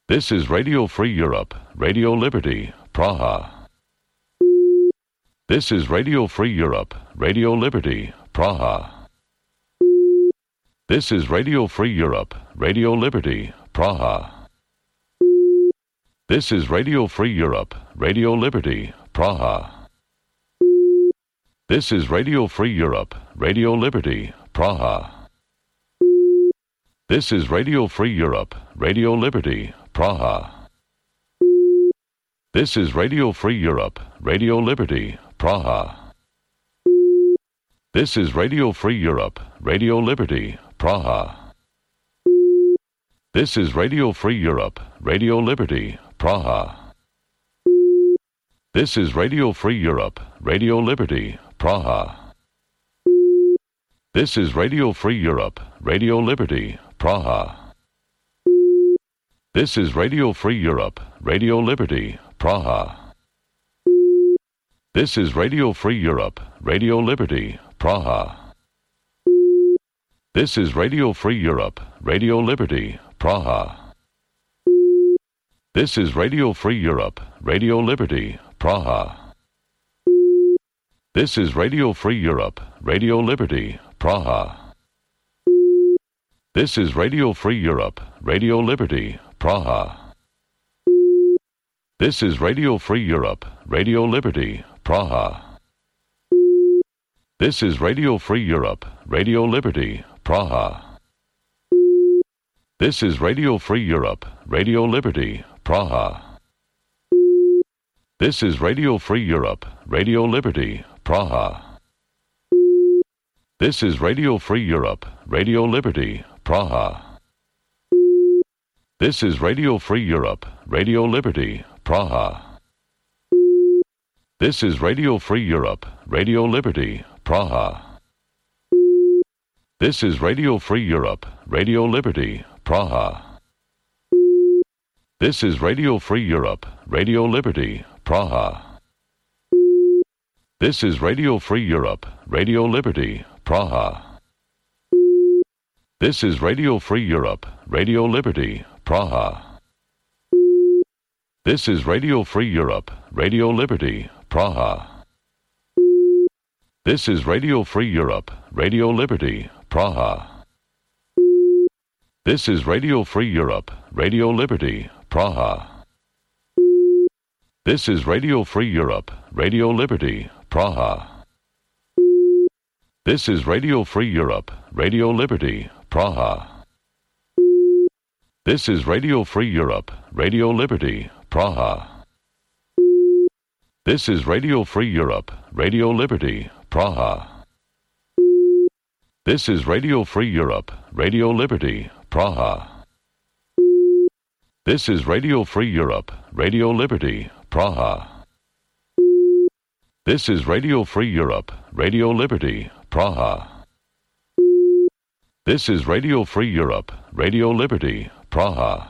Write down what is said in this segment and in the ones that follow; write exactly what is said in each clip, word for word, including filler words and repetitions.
This is Radio Free Europe, Radio Liberty, Praha. This is Radio Free Europe, Radio Liberty, Praha. This is Radio Free Europe, Radio Liberty, Praha. This is Radio Free Europe, Radio Liberty, Praha. This is Radio Free Europe, Radio Liberty, Praha. This is Radio Free Europe, Radio Liberty, Praha. This is Radio Free Europe, Radio Liberty, Praha. This is Radio Free Europe, Radio Liberty, Praha. This is Radio Free Europe, Radio Liberty, Praha. This is Radio Free Europe, Radio Liberty, Praha. This is Radio Free Europe, Radio Liberty, Praha. This is Radio Free Europe, Radio Liberty, Praha. This is Radio Free Europe, Radio Liberty, Praha. This is Radio Free Europe, Radio Liberty, Praha. This is Radio Free Europe, Radio Liberty, Praha. This is Radio Free Europe, Radio Liberty, Praha. This is Radio Free Europe, Radio Liberty, Praha. This is Radio Free Europe, Radio Liberty, Praha. This is Radio Free Europe, Radio Liberty, Praha. This is Radio Free Europe, Radio Liberty, Praha. This is Radio Free Europe, Radio Liberty, Praha. This is Radio Free Europe, Radio Liberty, Praha. This is Radio Free Europe, Radio Liberty, Praha. This is Radio Free Europe, Radio Liberty, Praha. This is Radio Free Europe, Radio Liberty, Praha. This is Radio Free Europe, Radio Liberty, Praha. This is Radio Free Europe, Radio Liberty, Praha. This is Radio Free Europe, Radio Liberty, Praha. This is Radio Free Europe, Radio Liberty, Praha. This is Radio Free Europe, Radio Liberty, Praha. This is Radio Free Europe, Radio Liberty, Praha. This is Radio Free Europe, Radio Liberty, Praha. This is Radio Free Europe, Radio Liberty, Praha. This is Radio Free Europe, Radio Liberty, Praha. This is Radio Free Europe, Radio Liberty, Praha. This is Radio Free Europe, Radio Liberty, Praha. This is Radio Free Europe, Radio Liberty, Praha. This is Radio Free Europe, Radio Liberty, Praha. This is Radio Free Europe, Radio Liberty, Praha.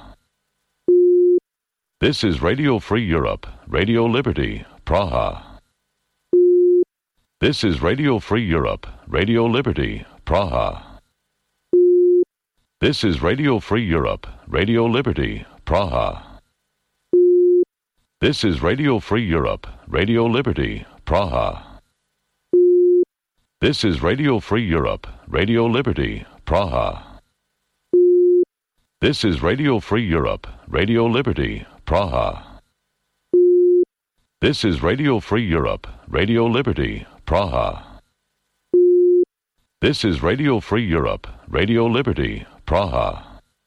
This is Radio Free Europe, Radio Liberty, Praha. This is Radio Free Europe, Radio Liberty, Praha. This is Radio Free Europe, Radio Liberty, Praha. This is Radio Free Europe, Radio Liberty, Praha. This is Radio Free Europe, Radio Liberty, Praha. This is Radio Free Europe, Radio Liberty, Praha. This is Radio Free Europe, Radio Liberty, Praha. This is Radio Free Europe, Radio Liberty, Praha.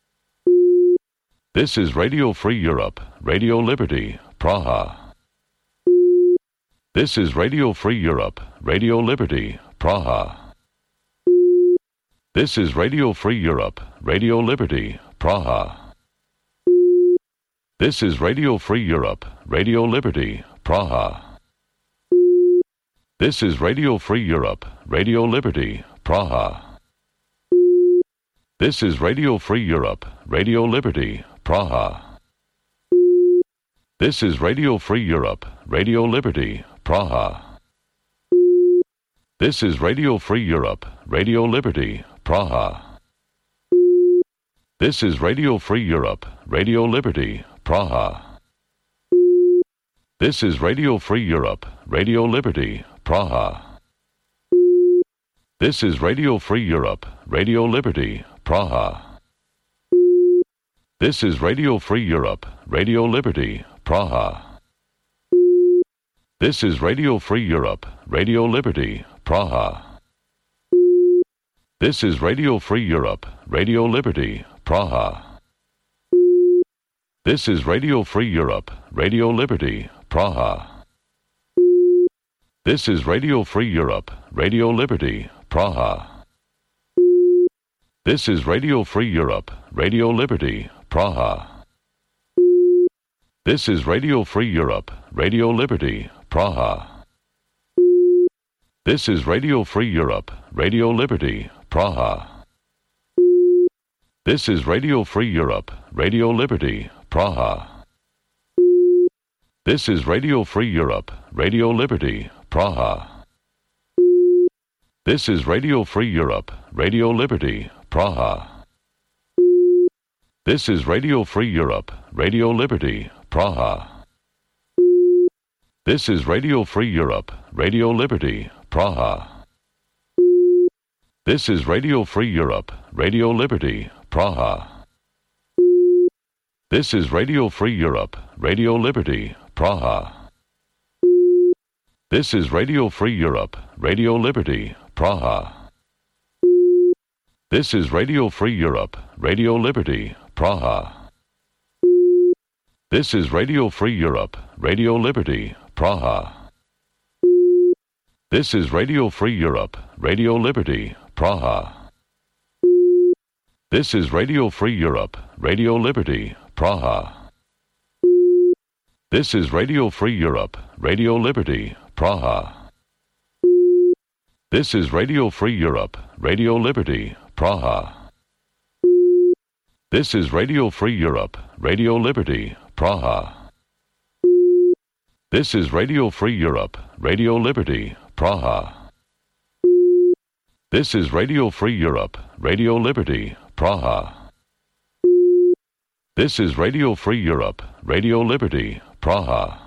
This is Radio Free Europe, Radio Liberty, Praha. This is Radio Free Europe, Radio Liberty, Praha. This is Radio Free Europe, Radio Liberty, Praha. This is Radio Free Europe, Radio Liberty, Praha. This is Radio Free Europe, Radio Liberty, Praha. This is Radio Free Europe, Radio Liberty, Praha. This is Radio Free Europe, Radio Liberty, Praha. This is Radio Free Europe, Radio Liberty, Praha. This is Radio Free Europe, Radio Liberty, Praha. This is Radio Free Europe, Radio Liberty, Praha. This is Radio Free Europe, Radio Liberty, Praha. This is Radio Free Europe, Radio Liberty, Praha. This is Radio Free Europe, Radio Liberty, Praha. This is Radio Free Europe, Radio Liberty, Praha. This is Radio Free Europe, Radio Liberty, Praha. This is Radio Free Europe, Radio Liberty, Praha. This is Radio Free Europe, Radio Liberty, Praha. This is Radio Free Europe, Radio Liberty, Praha. This is Radio Free Europe, Radio Liberty, Praha. This is Radio Free Europe, Radio Liberty, Praha. This is Radio Free Europe, Radio Liberty, Praha. This is Radio Free Europe, Radio Liberty, Praha. This is Radio Free Europe, Radio Liberty, Praha. This is Radio Free Europe, Radio Liberty, Praha. This is Radio Free Europe, Radio Liberty, Praha. This is Radio Free Europe, Radio Liberty, Praha. This is Radio Free Europe, Radio Liberty, Praha. This is Radio Free Europe, Radio Liberty, Praha. This is Radio Free Europe, Radio Liberty, Praha. This is Radio Free Europe, Radio Liberty, Praha. This is Radio Free Europe, Radio Liberty, Praha. This is Radio Free Europe, Radio Liberty, Praha. This is Radio Free Europe, Radio Liberty, Praha. This is Radio Free Europe, Radio Liberty, Praha. This is Radio Free Europe, Radio Liberty, Praha. This is Radio Free Europe, Radio Liberty, Praha. This is Radio Free Europe, Radio Liberty, Praha.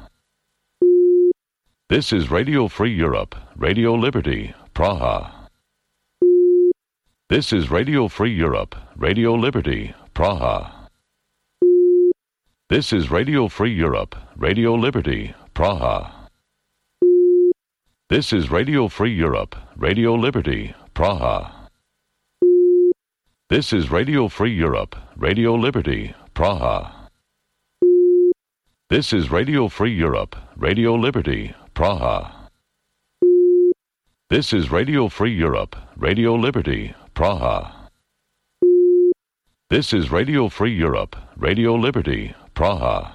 This is Radio Free Europe, Radio Liberty, Praha. This is Radio Free Europe, Radio Liberty, Praha. This is Radio Free Europe, Radio Liberty, Praha. This is Radio Free Europe, Radio Liberty, Praha. This is Radio Free Europe, Radio Liberty, Praha. This is Radio Free Europe, Radio Liberty, Praha. This is Radio Free Europe, Radio Liberty, Praha. This is Radio Free Europe, Radio Liberty, Praha.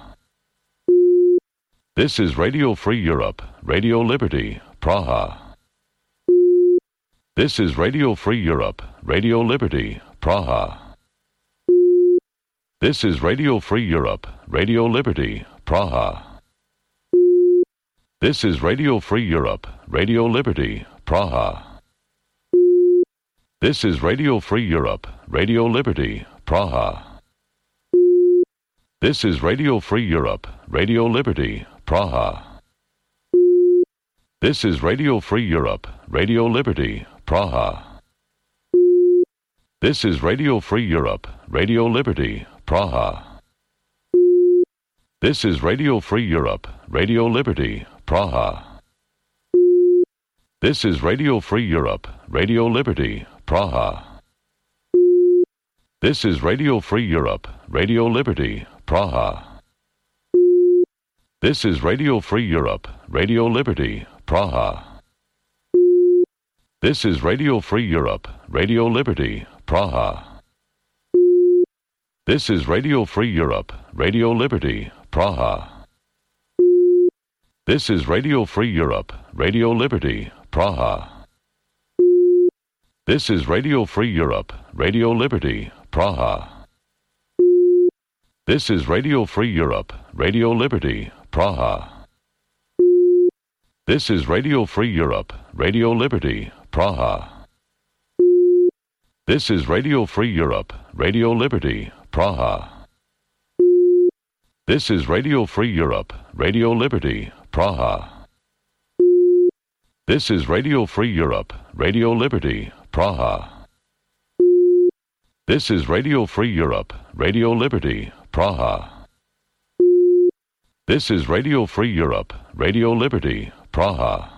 This is Radio Free Europe, Radio Liberty, Praha. This is Radio Free Europe, Radio Liberty, Praha. This is Radio Free Europe, Radio Liberty, Praha. This is Radio Free Europe, Radio Liberty, Praha. This is Radio Free Europe, Radio Liberty, Praha. This is Radio Free Europe, Radio Liberty, Praha. This is Radio Free Europe, Radio Liberty, Praha. This is Radio Free Europe, Radio Liberty, Praha. This is Radio Free Europe, Radio Liberty, Praha. This is Radio Free Europe, Radio Liberty, Praha. This is Radio Free Europe, Radio Liberty, Praha. This is Radio Free Europe, Radio Liberty, Praha. This is Radio Free Europe, Radio Liberty, Praha. This is Radio Free Europe, Radio Liberty, Praha. This is Radio Free Europe, Radio Liberty, Praha. This is Radio Free Europe, Radio Liberty, Praha. This is Radio Free Europe, Radio Liberty, Praha. This is Radio Free Europe, Radio Liberty, Praha. This is Radio Free Europe, Radio Liberty, Praha. This is Radio Free Europe, Radio Liberty, Praha. This is Radio Free Europe, Radio Liberty, Praha. This is Radio Free Europe, Radio Liberty, Praha. This is Radio Free Europe, Radio Liberty, Praha.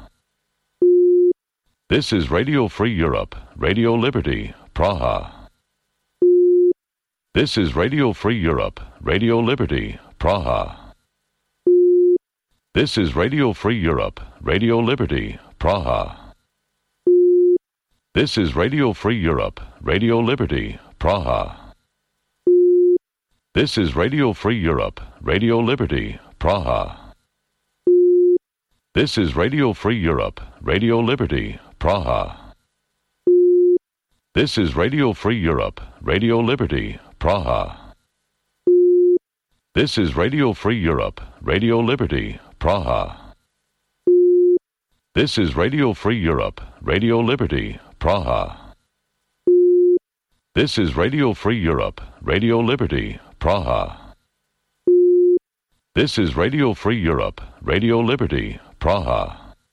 This is Radio Free Europe, Radio Liberty, Praha. This is Radio Free Europe, Radio Liberty, Praha. This is Radio Free Europe, Radio Liberty, Praha. This is Radio Free Europe, Radio Liberty, Praha. This is Radio Free Europe, Radio Liberty, Praha. This is Radio Free Europe, Radio Liberty, Praha. This is Radio Free Europe, Radio Liberty, Praha. This is Radio Free Europe, Radio Liberty, Praha. This is Radio Free Europe, Radio Liberty, Praha. This is Radio Free Europe, Radio Liberty, Praha. This is Radio Free Europe, Radio Liberty, Praha.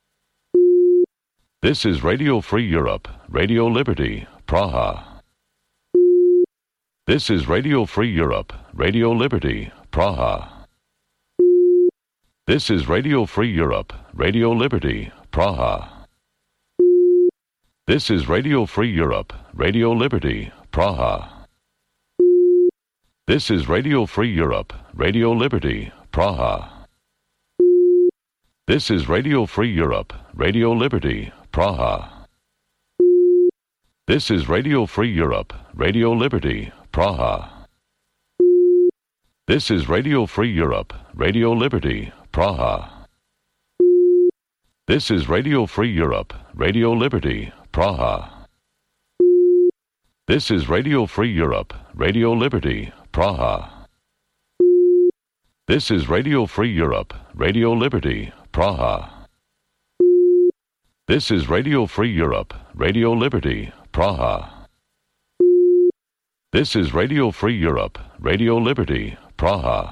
This is Radio Free Europe, Radio Liberty, Praha. This is Radio Free Europe, Radio Liberty, Praha. This is Radio Free Europe, Radio Liberty, Praha. This is Radio Free Europe, Radio Liberty, Praha. This is Radio Free Europe, Radio Liberty, Praha. This is Radio Free Europe, Radio Liberty, Praha. This is Radio Free Europe, Radio Liberty, Praha. This is Radio Free Europe, Radio Liberty, Praha. This is Radio Free Europe, Radio Liberty, Praha. This is Radio Free Europe, Radio Liberty, Praha. This is Radio Free Europe, Radio Liberty, Praha. This is Radio Free Europe, Radio Liberty, Praha. This is Radio Free Europe, Radio Liberty, Praha.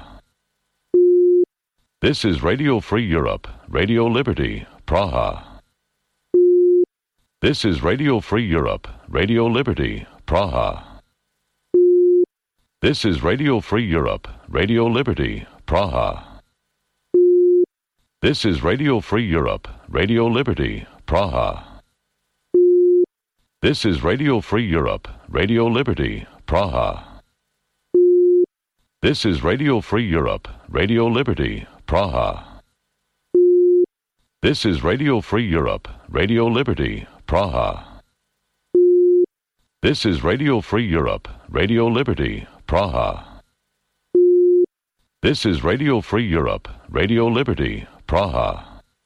This is Radio Free Europe, Radio Liberty, Praha. This is Radio Free Europe, Radio Liberty, Praha. This is Radio Free Europe, Radio Liberty, Praha. This is Radio Free Europe, Radio Liberty, Praha. This is Radio Free Europe, Radio Liberty, Praha. This is Radio Free Europe, Radio Liberty, Praha. This is Radio Free Europe, Radio Liberty, Praha. This is Radio Free Europe, Radio Liberty, Praha. This is Radio Free Europe, Radio Liberty, Praha.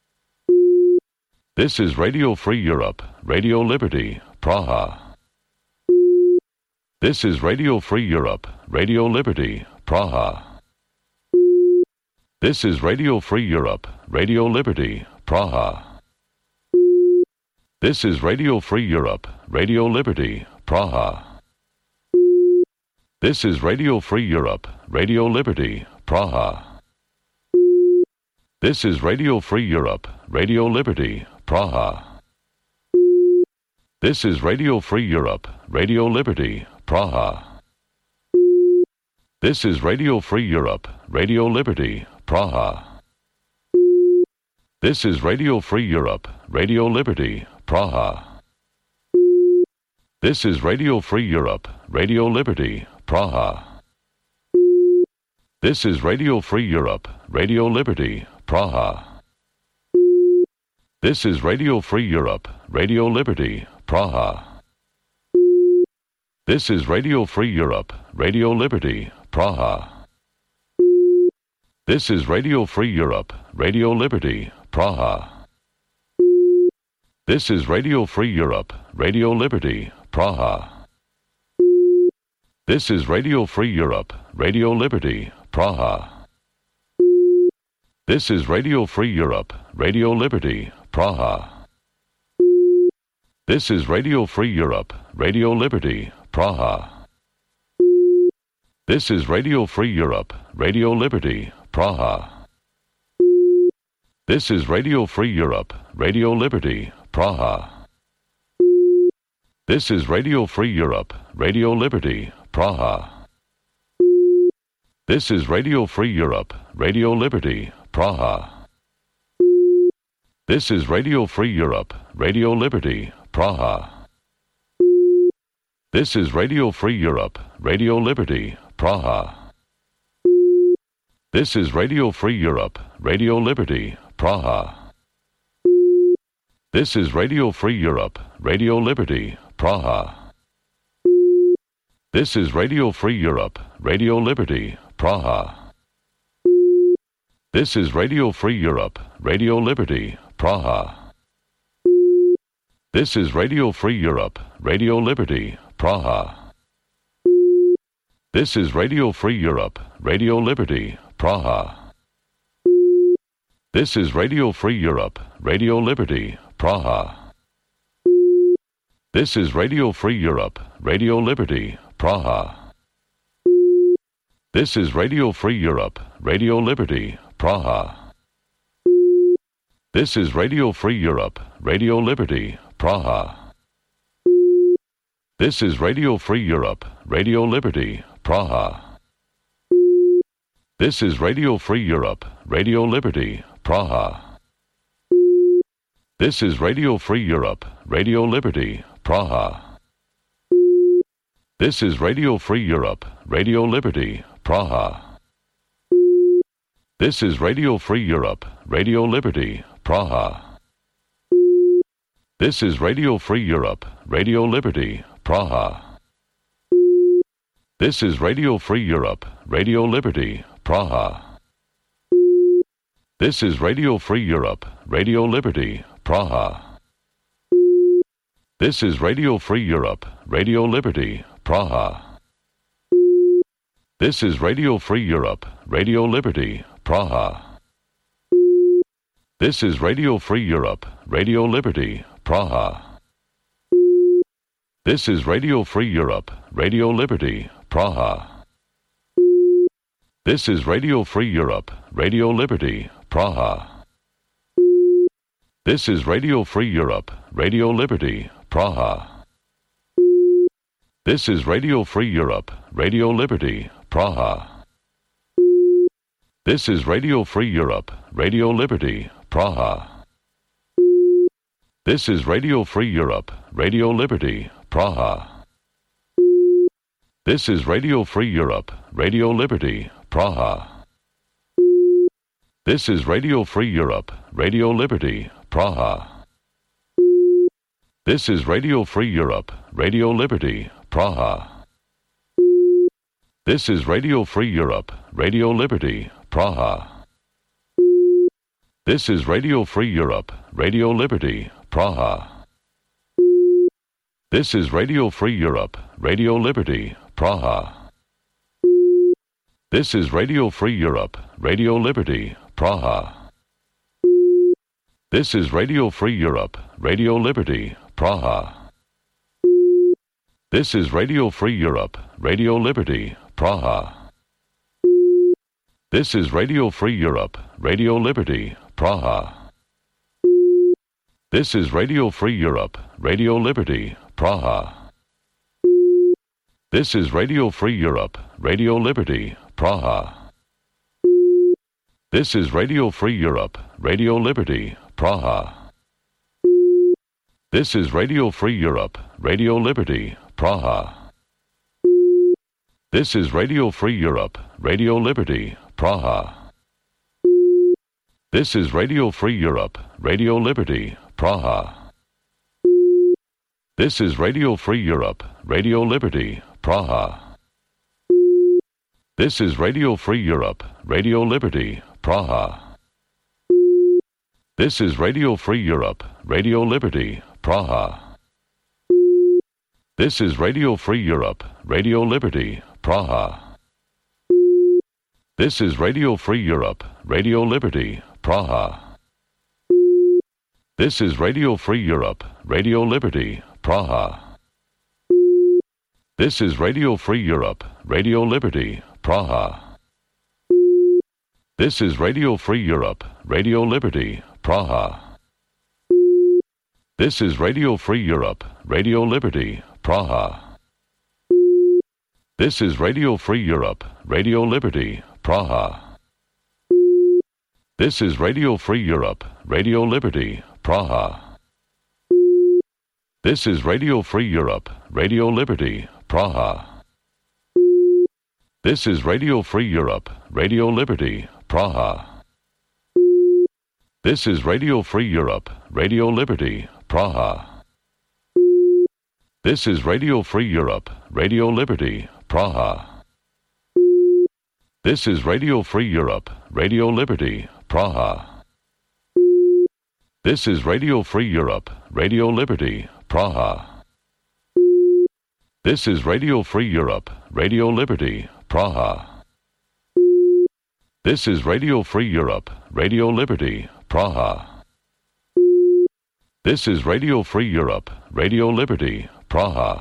This is Radio Free Europe, Radio Liberty, Praha. This is Radio Free Europe, Radio Liberty, Praha. This is Radio Free Europe, Radio Liberty, Praha. This is Radio Free Europe, Radio Liberty, Praha. This is Radio Free Europe, Radio Liberty, Praha. This is Radio Free Europe, Radio Liberty, Praha. This is Radio Free Europe, Radio Liberty, Praha. This is Radio Free Europe, Radio Liberty, Praha. This is Radio Free Europe, Radio Liberty, Praha. This is Radio Free Europe, Radio Liberty, Praha. This is Radio Free Europe, Radio Liberty, Praha. This is Radio Free Europe, Radio Liberty, Praha. This is Radio Free Europe, Radio Liberty, Praha. This is Radio Free Europe, Radio Liberty, Praha. This is Radio Free Europe, Radio Liberty, Praha. This is Radio Free Europe, Radio Liberty, Praha. This is Radio Free Europe, Radio Liberty, Praha. This is Radio Free Europe, Radio Liberty, Praha. This is Radio Free Europe, Radio Liberty, Praha. This is Radio Free Europe, Radio Liberty, Praha. This is Radio Free Europe, Radio Liberty, Praha. This is Radio Free Europe, Radio Liberty, Praha. This is Radio Free Europe, Radio Liberty, Praha. This is Radio Free Europe, Radio Liberty, Praha. This is Radio Free Europe, Radio Liberty, Praha. This is Radio Free Europe, Radio Liberty, Praha. This is Radio Free Europe, Radio Liberty, Praha. This is Radio Free Europe, Radio Liberty, Praha. This is Radio Free Europe, Radio Liberty, Praha. This is Radio Free Europe, Radio Liberty, Praha. This is Radio Free Europe, Radio Liberty, Praha. This is Radio Free Europe, Radio Liberty, Praha. This is Radio Free Europe, Radio Liberty, Praha. This is Radio Free Europe, Radio Liberty, Praha. This is Radio Free Europe, Radio Liberty, Praha. This is Radio Free Europe, Radio Liberty, Praha. This is Radio Free Europe, Radio Liberty, Praha. This is Radio Free Europe, Radio Liberty, Praha. This is Radio Free Europe, Radio Liberty, Praha. This is Radio Free Europe, Radio Liberty, Praha. This is Radio Free Europe, Radio Liberty, Praha. This is Radio Free Europe, Radio Liberty, Praha. This is Radio Free Europe, Radio Liberty, Praha. This is Radio Free Europe, Radio Liberty, Praha. This is Radio Free Europe, Radio Liberty, Praha. This is Radio Free Europe, Radio Liberty, Praha. This is Radio Free Europe, Radio Liberty, Praha. This is Radio Free Europe, Radio Liberty, Praha. This is Radio Free Europe, Radio Liberty, Praha. This is Radio Free Europe, Radio Liberty, Praha. This is Radio Free Europe, Radio Liberty, Praha. This is Radio Free Europe, Radio Liberty, Praha. This is Radio Free Europe, Radio Liberty, Praha. This is Radio Free Europe, Radio Liberty, Praha. This is Radio Free Europe, Radio Liberty, Praha. This is Radio Free Europe, Radio Liberty, Praha. This is Radio Free Europe, Radio Liberty, Praha. This is Radio Free Europe, Radio Liberty, Praha. This is Radio Free Europe, Radio Liberty, Praha. This is Radio Free Europe, Radio Liberty, Praha. This is Radio Free Europe, Radio Liberty, Praha. This is Radio Free Europe, Radio Liberty, Praha. This is Radio Free Europe, Radio Liberty, Praha. This is Radio Free Europe, Radio Liberty, Praha. This is Radio Free Europe, Radio Liberty, Praha. This is Radio Free Europe, Radio Liberty, Praha. This is Radio Free Europe, Radio Liberty, Praha. This is Radio Free Europe, Radio Liberty, Praha. This is Radio Free Europe, Radio Liberty, Praha. This is Radio Free Europe, Radio Liberty, Praha. This is Radio Free Europe, Radio Liberty, Praha. This is Radio Free Europe, Radio Liberty, Praha. This is Radio Free Europe, Radio Liberty, Praha. This is Radio Free Europe, Radio Liberty, Praha. This is Radio Free Europe, Radio Liberty, Praha. This is Radio Free Europe, Radio Liberty, Praha. This is Radio Free Europe, Radio Liberty, Praha. This is Radio Free Europe, Radio Liberty, Praha. This is Radio Free Europe, Radio Liberty, Praha. This is Radio Free Europe, Radio Liberty, Praha. This is Radio Free Europe, Radio Liberty, Praha. This is Radio Free Europe, Radio Liberty, Praha. This is Radio Free Europe, Radio Liberty, Praha. This is Radio Free Europe, Radio Liberty, Praha. This is Radio Free Europe, Radio Liberty, Praha. This is Radio Free Europe, Radio Liberty, Praha. This is Radio Free Europe, Radio Liberty, Praha.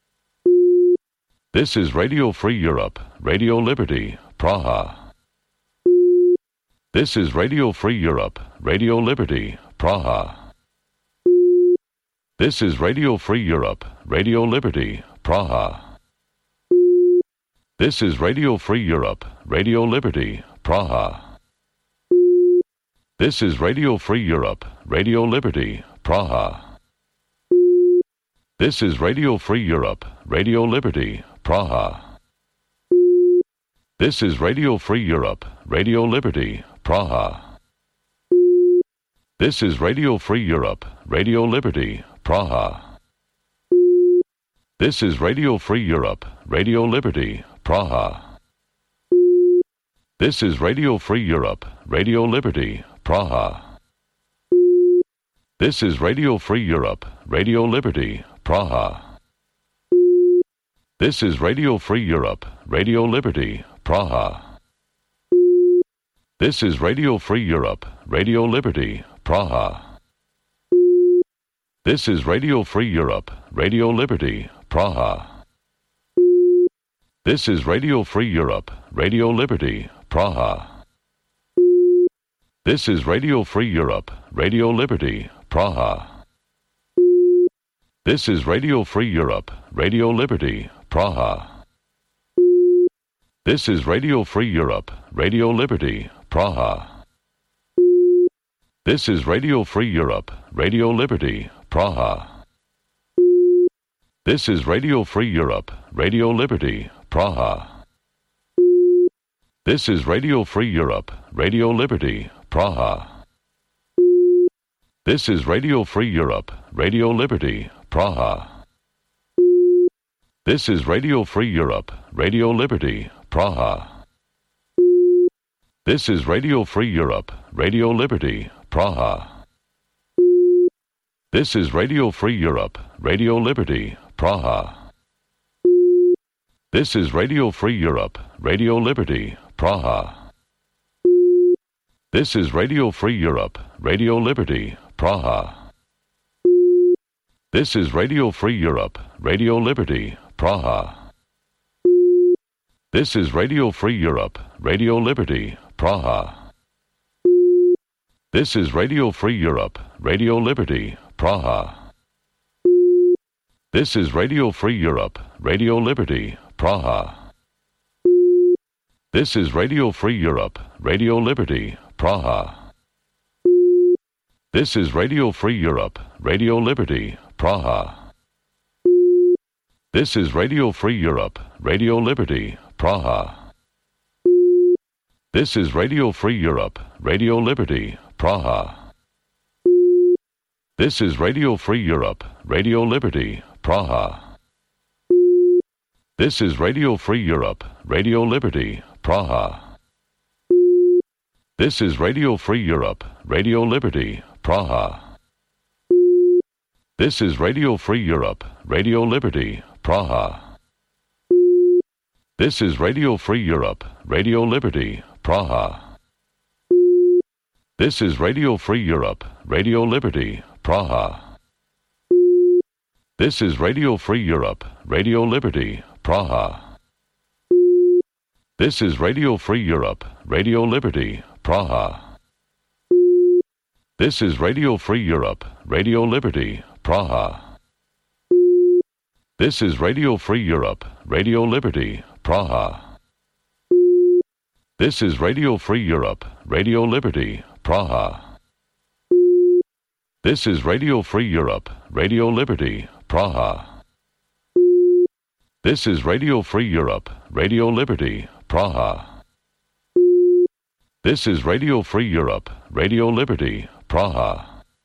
This is Radio Free Europe, Radio Liberty, Praha. This is Radio Free Europe, Radio Liberty, Praha. This is Radio Free Europe, Radio Liberty, Praha. This is Radio Free Europe, Radio Liberty, Praha. This is Radio Free Europe, Radio Liberty, Praha. This is Radio Free Europe, Radio Liberty, Praha. This is Radio Free Europe, Radio Liberty, Praha. This is Radio Free Europe, Radio Liberty, Praha. This is Radio Free Europe, Radio Liberty, Praha. This is Radio Free Europe, Radio Liberty, Praha. This is Radio Free Europe, Radio Liberty, Praha. This is Radio Free Europe, Radio Liberty, Praha. This is Radio Free Europe, Radio Liberty, Praha. This is Radio Free Europe, Radio Liberty, Praha. This is Radio Free Europe, Radio Liberty, Praha. This is Radio Free Europe, Radio Liberty, Praha. This is Radio Free Europe, Radio Liberty, Praha. This is Radio Free Europe, Radio Liberty, Praha. This is Radio Free Europe, Radio Liberty, Praha. This is Radio Free Europe, Radio Liberty, Praha. This is Radio Free Europe, Radio Liberty, Praha. This is Radio Free Europe, Radio Liberty, Praha. This is Radio Free Europe, Radio Liberty, Praha. This is Radio Free Europe, Radio Liberty, Praha. This is Radio Free Europe, Radio Liberty, Praha. This is Radio Free Europe, Radio Liberty, Praha. This is Radio Free Europe, Radio Liberty, Praha. This is Radio Free Europe, Radio Liberty, Praha. This is Radio Free Europe, Radio Liberty, Praha. This is Radio Free Europe, Radio Liberty, Praha. This is Radio Free Europe, Radio Liberty, Praha. This is Radio Free Europe, Radio Liberty, Praha. This is Radio Free Europe, Radio Liberty, Praha. This is Radio Free Europe, Radio Liberty, Praha. This is Radio Free Europe, Radio Liberty, Praha. This is Radio Free Europe, Radio Liberty, Praha. This is Radio Free Europe, Radio Liberty, Praha. This is Radio Free Europe, Radio Liberty, Praha. This is Radio Free Europe, Radio Liberty, Praha. This is Radio Free Europe, Radio Liberty, Praha. This is Radio Free Europe, Radio Liberty, Praha. This is Radio Free Europe, Radio Liberty, Praha. This is Radio Free Europe, Radio Liberty, Praha. This is Radio Free Europe, Radio Liberty, Praha. This is Radio Free Europe, Radio Liberty, Praha. This is Radio Free Europe, Radio Liberty, Praha. This is Radio Free Europe, Radio Liberty, Praha. This is Radio Free Europe, Radio Liberty, Praha. This is Radio Free Europe, Radio Liberty, Praha.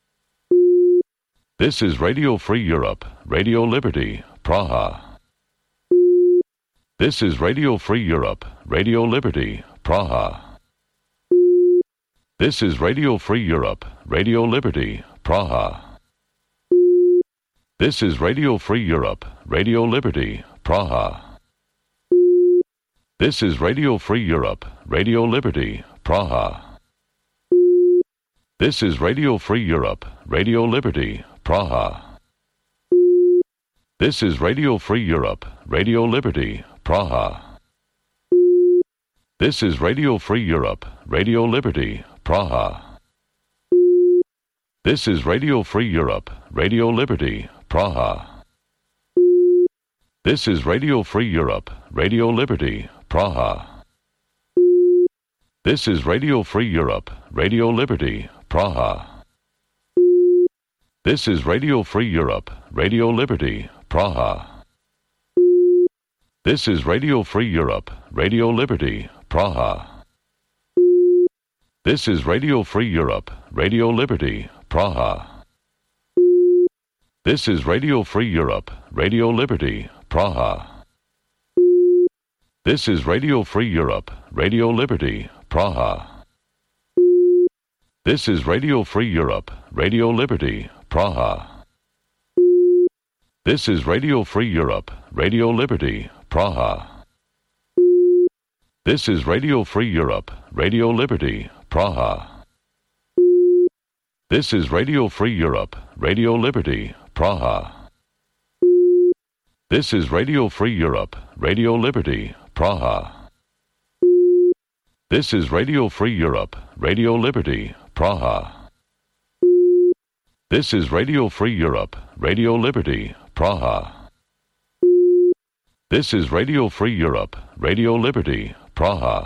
This is Radio Free Europe, Radio Liberty, Praha. This is Radio Free Europe, Radio Liberty, Praha. This is Radio Free Europe, Radio Liberty, Praha. This is Radio Free Europe, Radio Liberty, Praha. This is Radio Free Europe, Radio Liberty, Praha. This is Radio Free Europe, Radio Liberty, Praha. This is Radio Free Europe, Radio Liberty, Praha. This is Radio Free Europe, Radio Liberty, Praha. This is Radio Free Europe, Radio Liberty, Praha. This is Radio Free Europe, Radio Liberty, Praha. This is Radio Free Europe, Radio Liberty, Praha. This is Radio Free Europe, Radio Liberty, Praha. This is Radio Free Europe, Radio Liberty, Praha. This is Radio Free Europe, Radio Liberty, Praha. This is Radio Free Europe, Radio Liberty, Praha. This is Radio Free Europe, Radio Liberty, Praha. This is Radio Free Europe, Radio Liberty, Praha. This is Radio Free Europe, Radio Liberty, Praha. This is Radio Free Europe, Radio Liberty, Praha. This is Radio Free Europe, Radio Liberty, Praha. This is Radio Free Europe, Radio Liberty, Praha. This is Radio Free Europe, Radio Liberty, Praha. This is Radio Free Europe, Radio Liberty, Praha. This is Radio Free Europe, Radio Liberty, Praha.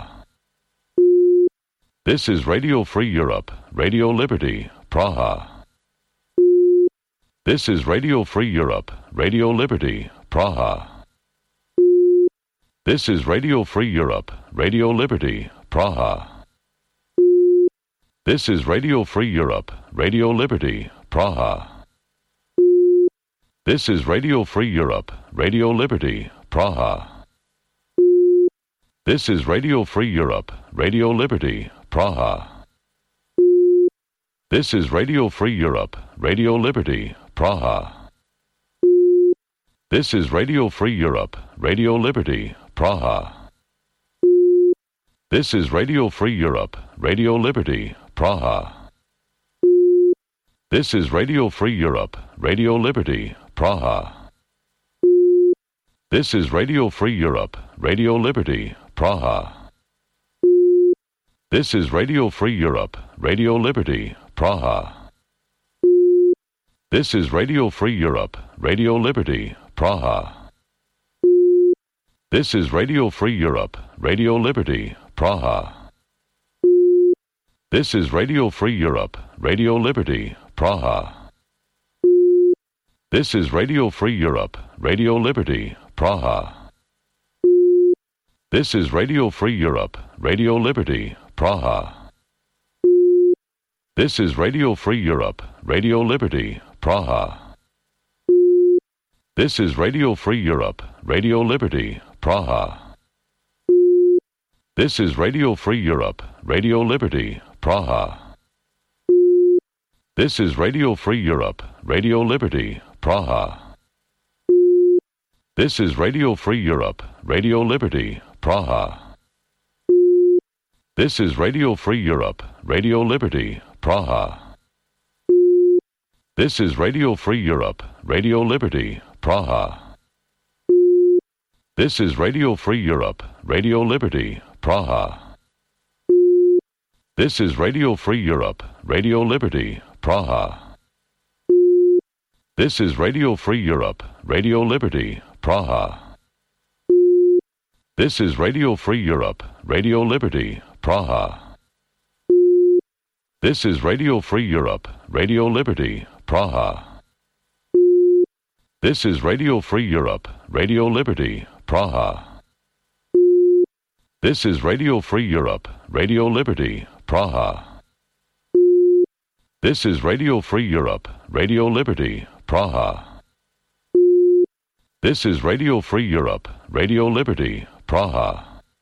This is Radio Free Europe, Radio Liberty, Praha. This is Radio Free Europe, Radio Liberty, Praha. This is Radio Free Europe, Radio Liberty, Praha. This is Radio Free Europe, Radio Liberty, Praha. This is Radio Free Europe, Radio Liberty, Praha. This is Radio Free Europe, Radio Liberty, Praha. This is Radio Free Europe, Radio Liberty, Praha. This is Radio Free Europe, Radio Liberty, Praha. This is Radio Free Europe, Radio Liberty, Praha. This is Radio Free Europe, Radio Liberty, Praha. This is Radio Free Europe, Radio Liberty, Praha. This is Radio Free Europe, Radio Liberty, Praha. This is Radio Free Europe, Radio Liberty, Praha. This is Radio Free Europe, Radio Liberty, Praha. This is Radio Free Europe, Radio Liberty, Praha. This is Radio Free Europe, Radio Liberty, Praha. This is Radio Free Europe, Radio Liberty, Praha. This is Radio Free Europe, Radio Liberty, Praha. This is Radio Free Europe, Radio Liberty, Praha. This is Radio Free Europe, Radio Liberty, Praha. This is Radio Free Europe, Radio Liberty, Praha. This is Radio Free Europe, Radio Liberty, Praha. This is Radio Free Europe, Radio Liberty, Praha. This is Radio Free Europe, Radio Liberty, Praha. This is Radio Free Europe, Radio Liberty, Praha. This is Radio Free Europe, Radio Liberty, Praha. This is Radio Free Europe, Radio Liberty, Praha. This is Radio Free Europe, Radio Liberty, Praha. This is Radio Free Europe, Radio Liberty, Praha. This is Radio Free Europe, Radio Liberty, Praha. This is Radio Free Europe, Radio Liberty, Praha. This is Radio Free Europe, Radio Liberty, Praha. This is Radio Free Europe, Radio Liberty, Praha.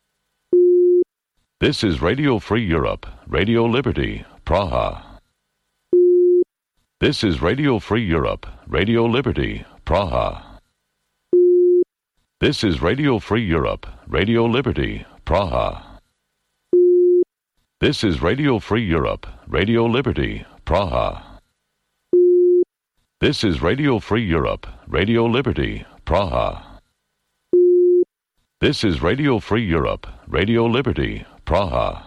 This is Radio Free Europe, Radio Liberty, Praha. This is Radio Free Europe, Radio Liberty, Praha. This is Radio Free Europe, Radio Liberty, Praha. This is Radio Free Europe, Radio Liberty, Praha. This is Radio Free Europe, Radio Liberty, Praha. This is Radio Free Europe, Radio Liberty, Praha.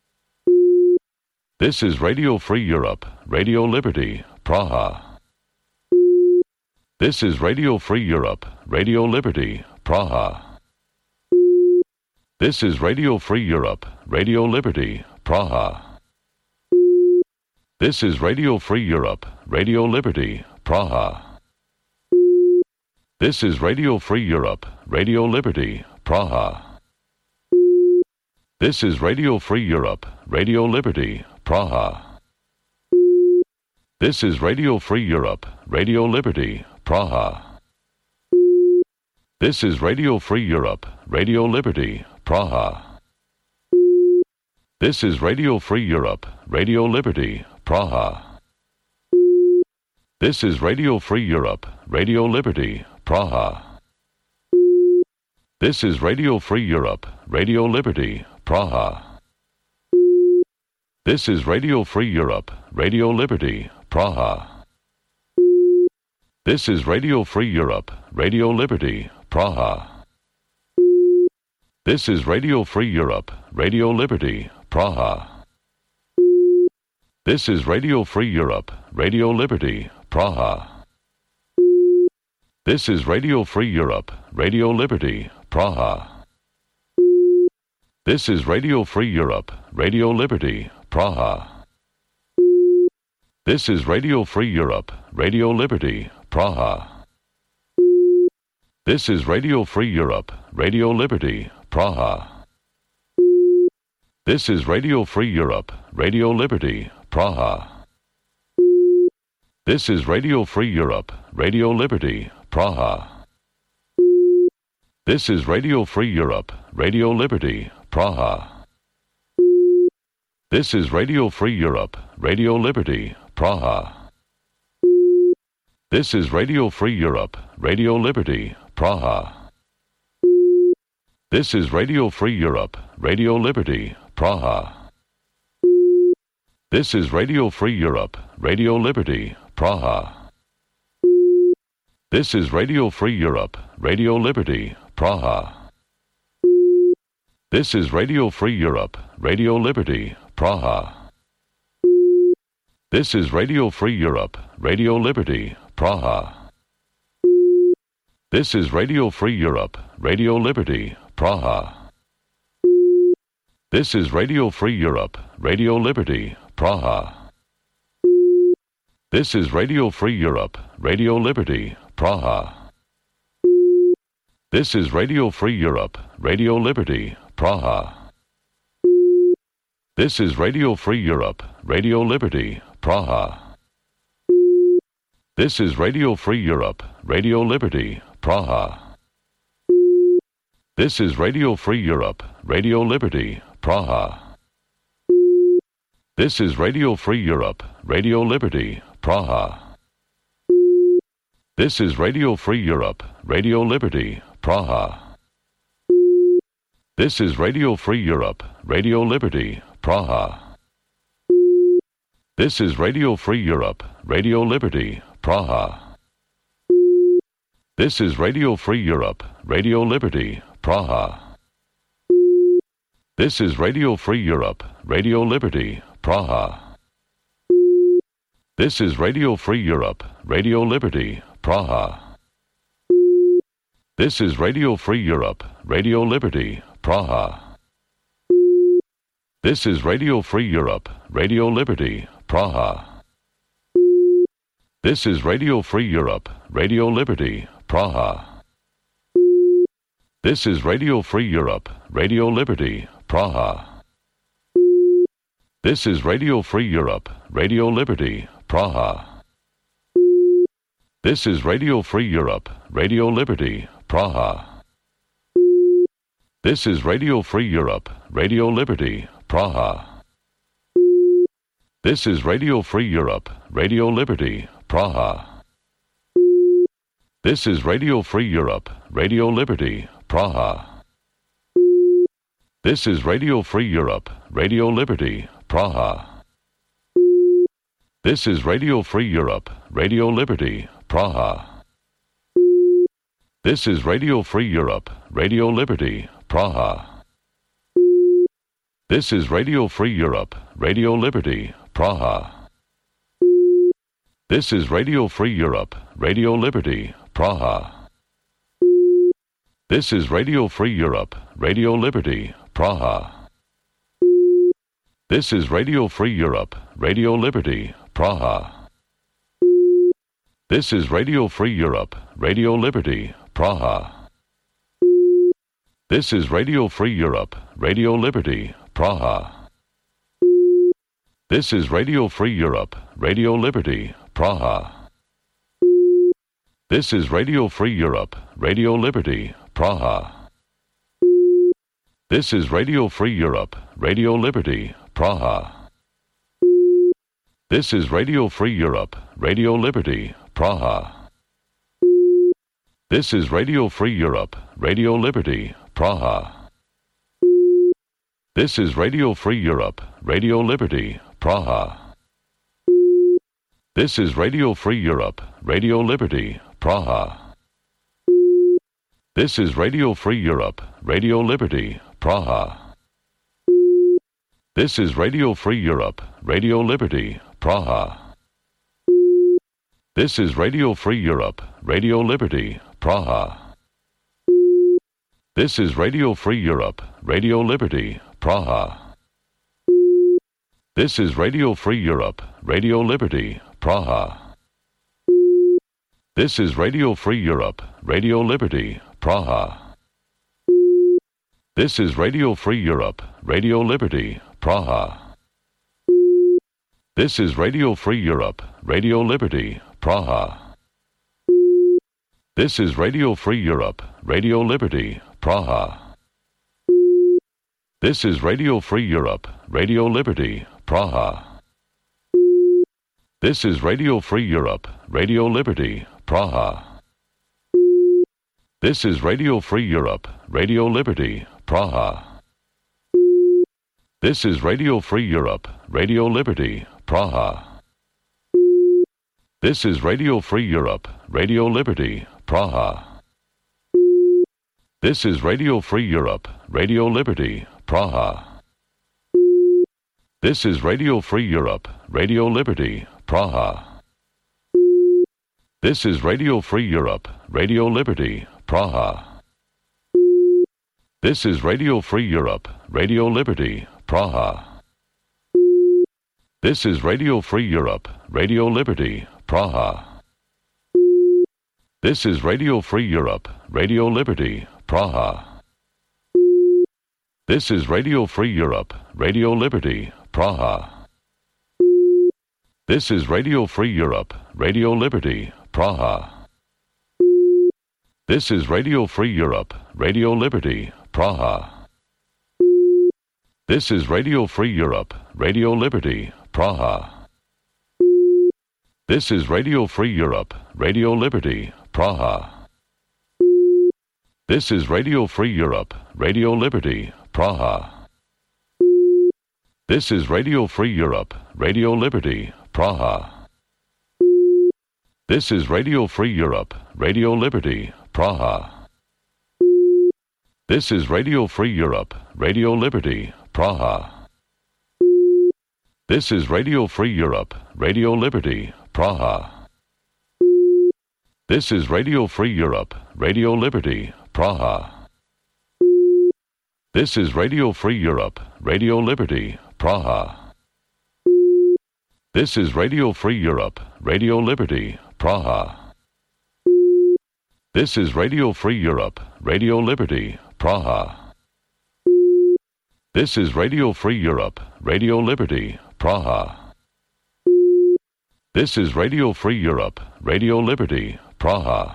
This is Radio Free Europe, Radio Liberty, Praha. This is Radio Free Europe, Radio Liberty, Praha. This is Radio Free Europe, Radio Liberty, Praha. This is Radio Free Europe, Radio Liberty, Praha. This is Radio Free Europe, Radio Liberty, Praha. This is Radio Free Europe, Radio Liberty, Praha. This is Radio Free Europe, Radio Liberty, Praha. This is Radio Free Europe, Radio Liberty, Praha. This is Radio Free Europe, Radio Liberty, Praha. This is Radio Free Europe, Radio Liberty, Praha. This is Radio Free Europe, Radio Liberty, Praha. This is Radio Free Europe, Radio Liberty, Praha. This is Radio Free Europe, Radio Liberty, Praha. This is Radio Free Europe, Radio Liberty, Praha. This is Radio Free Europe, Radio Liberty, Praha. This is Radio Free Europe, Radio Liberty, Praha. This is Radio Free Europe, Radio Liberty, Praha. This is Radio Free Europe, Radio Liberty, Praha. This is Radio Free Europe, Radio Liberty, Praha. This is Radio Free Europe, Radio Liberty, Praha. This is Radio Free Europe, Radio Liberty, Praha. This is Radio Free Europe, Radio Liberty, Praha. This is Radio Free Europe, Radio Liberty, Praha. This is Radio Free Europe, Radio Liberty, Praha. This is Radio Free Europe, Radio Liberty, Praha. This is Radio Free Europe, Radio Liberty, Praha. This is Radio Free Europe, Radio Liberty, Praha. This is Radio Free Europe, Radio Liberty, Praha. This is Radio Free Europe, Radio Liberty, Praha. This is Radio Free Europe, Radio Liberty, Praha. This is Radio Free Europe, Radio Liberty, Praha. This is Radio Free Europe, Radio Liberty, Praha. This is Radio Free Europe, Radio Liberty, Praha. This is Radio Free Europe, Radio Liberty, Praha. This is Radio Free Europe, Radio Liberty, Praha. This is Radio Free Europe, Radio Liberty, Praha. This is Radio Free Europe, Radio Liberty, Praha. This is Radio Free Europe, Radio Liberty, Praha. This is Radio Free Europe, Radio Liberty, Praha. This is Radio Free Europe, Radio Liberty, Praha. This is Radio Free Europe, Radio Liberty, Praha. This is Radio Free Europe, Radio Liberty, Praha. This is Radio Free Europe, Radio Liberty, Praha. This is Radio Free Europe, Radio Liberty, Praha. This is Radio Free Europe, Radio Liberty, Praha. This is Radio Free Europe, Radio Liberty, Praha. This is Radio Free Europe, Radio Liberty, Praha. This is Radio Free Europe, Radio Liberty, Praha. This is Radio Free Europe, Radio Liberty, Praha. This is Radio Free Europe, Radio Liberty, Praha. This is Radio Free Europe, Radio Liberty, Praha. This is Radio Free Europe, Radio Liberty, Praha. This is Radio Free Europe, Radio Liberty, Praha. This is Radio Free Europe, Radio Liberty, Praha. This is Radio Free Europe, Radio Liberty, Praha. This is Radio Free Europe, Radio Liberty, Praha. This is Radio Free Europe, Radio Liberty, Praha. This is Radio Free Europe, Radio Liberty, Praha. This is Radio Free Europe, Radio Liberty, Praha. This is Radio Free Europe, Radio Liberty, Praha. This is Radio Free Europe, Radio Liberty, Praha. This is Radio Free Europe, Radio Liberty, Praha. This is Radio Free Europe, Radio Liberty, Praha. This is Radio Free Europe, Radio Liberty, Praha. This is Radio Free Europe, Radio Liberty, Praha. This is Radio Free Europe, Radio Liberty, Praha. This is Radio Free Europe, Radio Liberty, Praha. This is Radio Free Europe, Radio Liberty, Praha. This is Radio Free Europe, Radio Liberty, Praha. This is Radio Free Europe, Radio Liberty, Praha. This is Radio Free Europe, Radio Liberty, Praha. This is Radio Free Europe, Radio Liberty, Praha. This is Radio Free Europe, Radio Liberty, Praha. This is Radio Free Europe, Radio Liberty, Praha. This is Radio Free Europe, Radio Liberty, Praha. This is Radio Free Europe, Radio Liberty, Praha. This is Radio Free Europe, Radio Liberty, Praha. This is Radio Free Europe, Radio Liberty, Praha. This is Radio Free Europe, Radio Liberty, Praha. This is Radio Free Europe, Radio Liberty, Praha. This is Radio Free Europe, Radio Liberty, Praha. This is Radio Free Europe, Radio Liberty, Praha. This is Radio Free Europe, Radio Liberty, Praha. This is Radio Free Europe, Radio Liberty, Praha. This is Radio Free Europe, Radio Liberty, Praha. This is Radio Free Europe, Radio Liberty, Praha. This is Radio Free Europe, Radio Liberty, Praha. This is Radio Free Europe, Radio Liberty, Praha. This is Radio Free Europe, Radio Liberty, Praha. This is Radio Free Europe, Radio Liberty, Praha. This is Radio Free Europe, Radio Liberty, Praha. This is Radio Free Europe, Radio Liberty, Praha. This is Radio Free Europe, Radio Liberty, Praha. This is Radio Free Europe, Radio Liberty, Praha. This is Radio Free Europe, Radio Liberty, Praha. This is Radio Free Europe, Radio Liberty, Praha. This is Radio Free Europe, Radio Liberty, Praha. This is Radio Free Europe, Radio Liberty, Praha. This is Radio Free Europe, Radio Liberty, Praha. This is Radio Free Europe, Radio Liberty, Praha. This is Radio Free Europe, Radio Liberty, Praha. This is Radio Free Europe, Radio Liberty, Praha. This is Radio Free Europe, Radio Liberty, Praha. This is Radio Free Europe, Radio Liberty, Praha.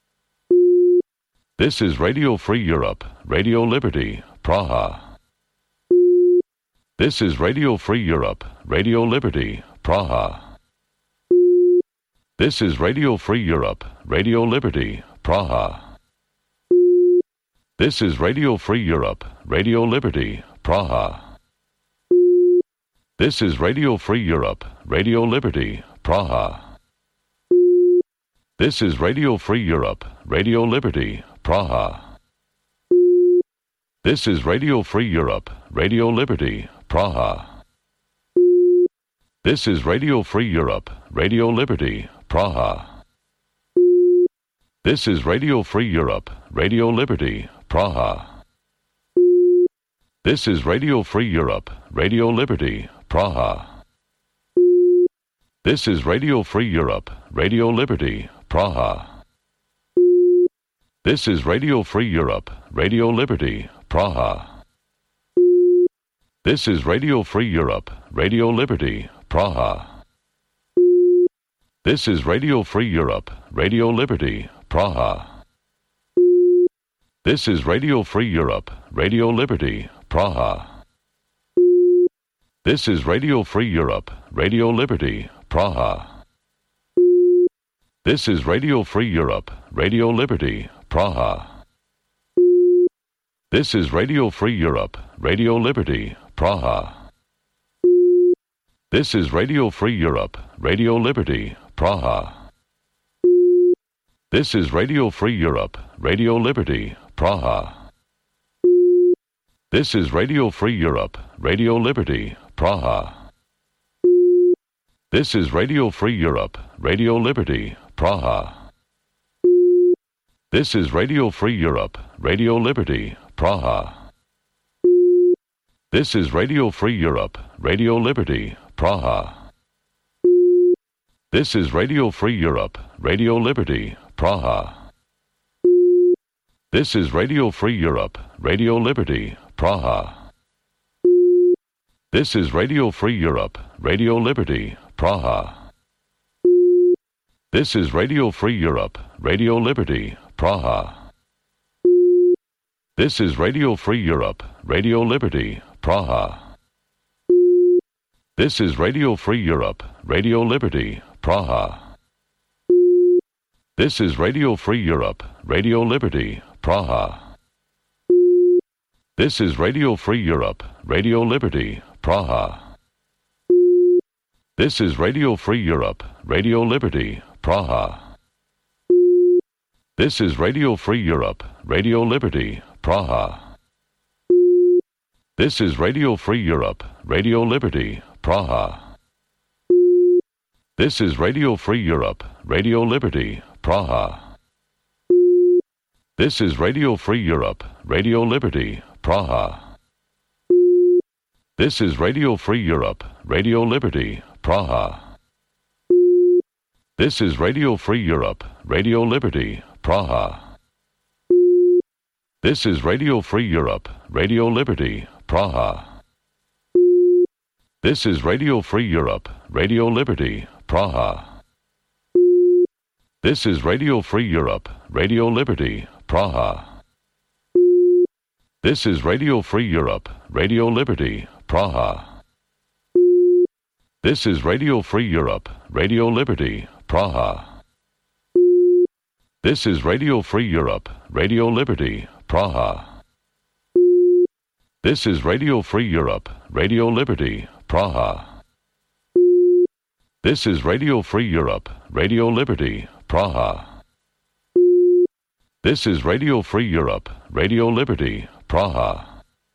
This is Radio Free Europe, Radio Liberty, Praha. This is Radio Free Europe, Radio Liberty, Praha. This is Radio Free Europe, Radio Liberty, Praha. This is Radio Free Europe, Radio Liberty, Praha. This is Radio Free Europe, Radio Liberty, Praha. This is Radio Free Europe, Radio Liberty, Praha. This is Radio Free Europe, Radio Liberty, Praha. This is Radio Free Europe, Radio Liberty, Praha. This is Radio Free Europe, Radio Liberty, Praha. This is Radio Free Europe, Radio Liberty, Praha. This is Radio Free Europe, Radio Liberty, Praha. This is Radio Free Europe, Radio Liberty, Praha. This is Radio Free Europe, Radio Liberty, Praha. This is Radio Free Europe, Radio Liberty, Praha. This is Radio Free Europe, Radio Liberty, Praha. This is Radio Free Europe, Radio Liberty, Praha. This is Radio Free Europe, Radio Liberty, Praha. This is Radio Free Europe, Radio Liberty, Praha. This is Radio Free Europe, Radio Liberty, Praha. This is Radio Free Europe, Radio Liberty, Praha. This is Radio Free Europe, Radio Liberty, Praha. This is Radio Free Europe, Radio Liberty, Praha. This is Radio Free Europe, Radio Liberty, Praha. This is Radio Free Europe, Radio Liberty, Praha. This is Radio Free Europe, Radio Liberty, Praha. This is Radio Free Europe, Radio Liberty, Praha. This is Radio Free Europe, Radio Liberty, Praha. This is Radio Free Europe, Radio Liberty, Praha. This is Radio Free Europe, Radio Liberty, Praha. This is Radio Free Europe, Radio Liberty, Praha. This is Radio Free Europe, Radio Liberty, Praha. This is Radio Free Europe, Radio Liberty, Praha. This is Radio Free Europe, Radio Liberty, Praha. This is Radio Free Europe, Radio Liberty, Praha. This is Radio Free Europe, Radio Liberty, Praha. This is Radio Free Europe, Radio Liberty, Praha. This is Radio Free Europe, Radio Liberty, Praha. This is Radio Free Europe, Radio Liberty, Praha. This is Radio Free Europe, Radio Liberty, Praha. This is Radio Free Europe, Radio Liberty, Praha. This is Radio Free Europe, Radio Liberty, Praha. This is Radio Free Europe, Radio Liberty, Praha. This is Radio Free Europe, Radio Liberty, Praha. This is Radio Free Europe, Radio Liberty, Praha. This is Radio Free Europe, Radio Liberty, Praha. This is Radio Free Europe, Radio Liberty, Praha. This is Radio Free Europe, Radio Liberty, Praha. This is Radio Free Europe, Radio Liberty, Praha.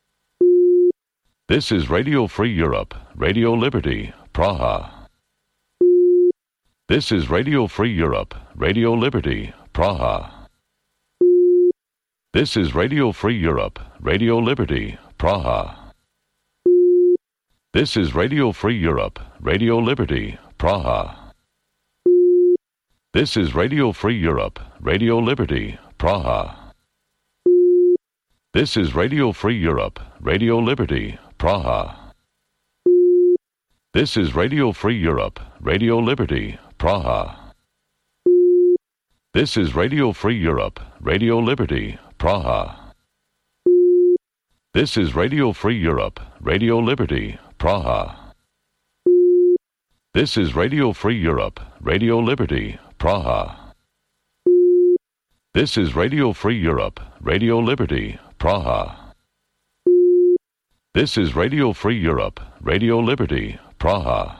This is Radio Free Europe, Radio Liberty, Praha. This is Radio Free Europe, Radio Liberty, Praha. This is Radio Free Europe, Radio Liberty, Praha. This is Radio Free Europe, Radio Liberty, Praha. This is Radio Free Europe, Radio Liberty, Praha. This is Radio Free Europe, Radio Liberty, Praha. This is Radio Free Europe, Radio Liberty, Praha. This is Radio Free Europe, Radio Liberty, Praha. This is Radio Free Europe, Radio Liberty, Praha. This is Radio Free Europe, Radio Liberty, Praha. This is Radio Free Europe, Radio Liberty, Praha. This is Radio Free Europe, Radio Liberty, Praha.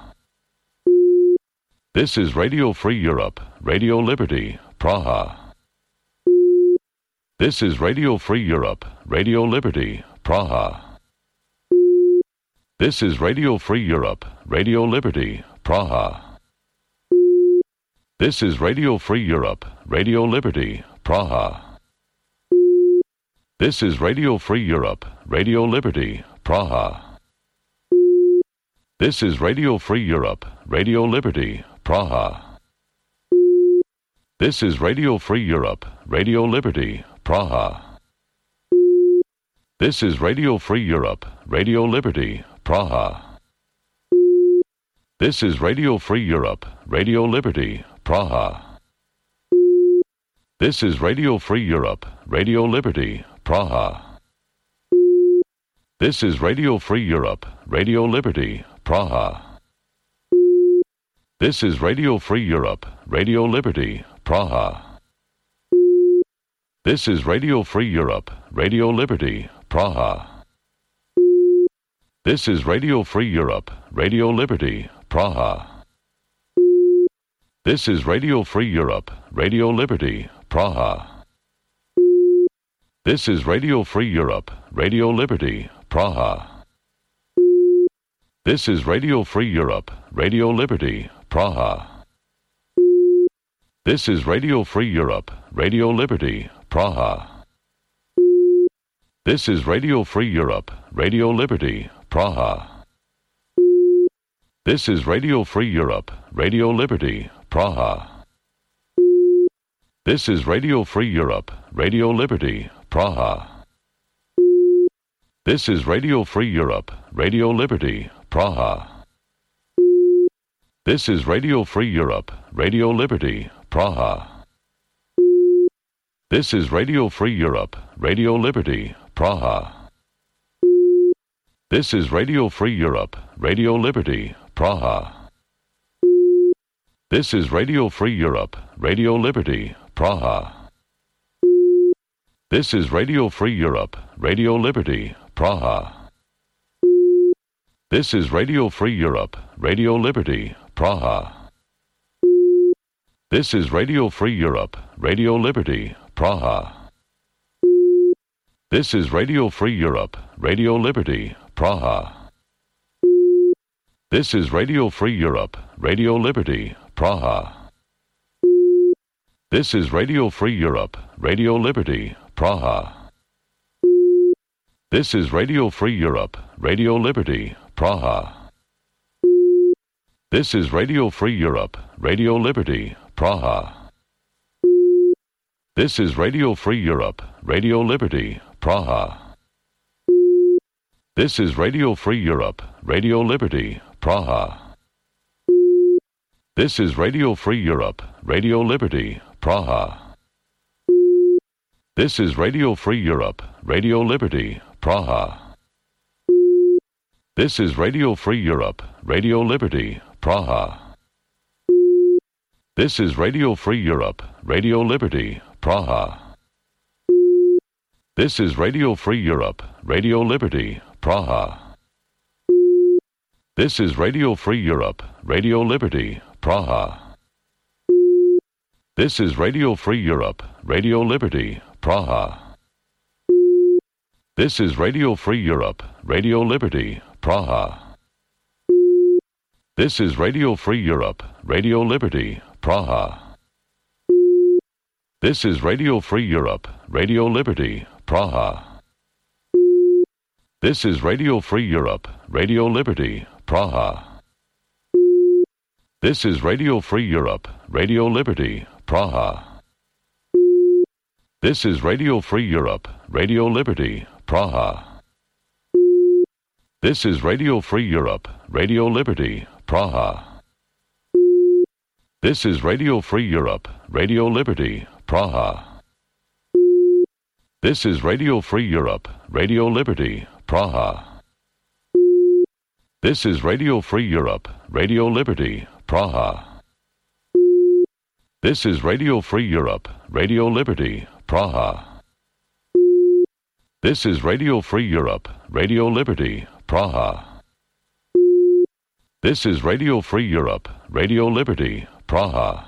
This is Radio Free Europe, Radio Liberty, Praha. This is Radio Free Europe, Radio Liberty, Praha. This is Radio Free Europe, Radio Liberty, Praha. This is Radio Free Europe, Radio Liberty, Praha. This is Radio Free Europe, Radio Liberty, Praha. This is Radio Free Europe, Radio Liberty, Praha. This is Radio Free Europe, Radio Liberty, Praha. This is Radio Free Europe, Radio Liberty, Praha. This is Radio Free Europe, Radio Liberty, Praha. This is Radio Free Europe, Radio Liberty, Praha. This is Radio Free Europe, Radio Liberty, Praha. This is Radio Free Europe, Radio Liberty, Praha. This is Radio Free Europe, Radio Liberty, Praha. This is Radio Free Europe, Radio Liberty, Praha. This is Radio Free Europe, Radio Liberty, Praha. This is Radio Free Europe, Radio Liberty, Praha. This is Radio Free Europe, Radio Liberty, Praha. This is Radio Free Europe, Radio Liberty, Praha. This is Radio Free Europe, Radio Liberty, Praha. This is Radio Free Europe, Radio Liberty, Praha. This is Radio Free Europe, Radio Liberty, Praha. This is Radio Free Europe, Radio Liberty, Praha. This is Radio Free Europe, Radio Liberty, Praha. This is Radio Free Europe, Radio Liberty, Praha. This is Radio Free Europe, Radio Liberty, Praha. This is Radio Free Europe, Radio Liberty, Praha. This is Radio Free Europe, Radio Liberty, Praha. This is Radio Free Europe, Radio Liberty, Praha. This is Radio Free Europe, Radio Liberty, Praha. This is Radio Free Europe, Radio Liberty, Praha. This is Radio Free Europe, Radio Liberty, Praha. This is Radio Free Europe, Radio Liberty, Praha. This is Radio Free Europe, Radio Liberty, Praha. This is Radio Free Europe, Radio Liberty, Praha. This is Radio Free Europe, Radio Liberty, Praha. This is Radio Free Europe, Radio Liberty, Praha. This is Radio Free Europe, Radio Liberty, Praha. This is Radio Free Europe, Radio Liberty, Praha. This is Radio Free Europe, Radio Liberty, Praha. This is Radio Free Europe, Radio Liberty, Praha. This is Radio Free Europe, Radio Liberty, Praha. This is Radio Free Europe, Radio Liberty, Praha. This is Radio Free Europe, Radio Liberty, Praha. This is Radio Free Europe, Radio Liberty, Praha. This is Radio Free Europe, Radio Liberty, Praha. This is Radio Free Europe, Radio Liberty, Praha. This is Radio Free Europe, Radio Liberty, Praha. This is Radio Free Europe, Radio Liberty, Praha. This is Radio Free Europe, Radio Liberty, Praha. This is Radio Free Europe, Radio Liberty, Praha. This is Radio Free Europe, Radio Liberty, Praha. This is Radio Free Europe, Radio Liberty, Praha. This is Radio Free Europe, Radio Liberty, Praha. This is Radio Free Europe, Radio Liberty, Praha. This is Radio Free Europe, Radio Liberty, Praha. This is Radio Free Europe, Radio Liberty, Praha.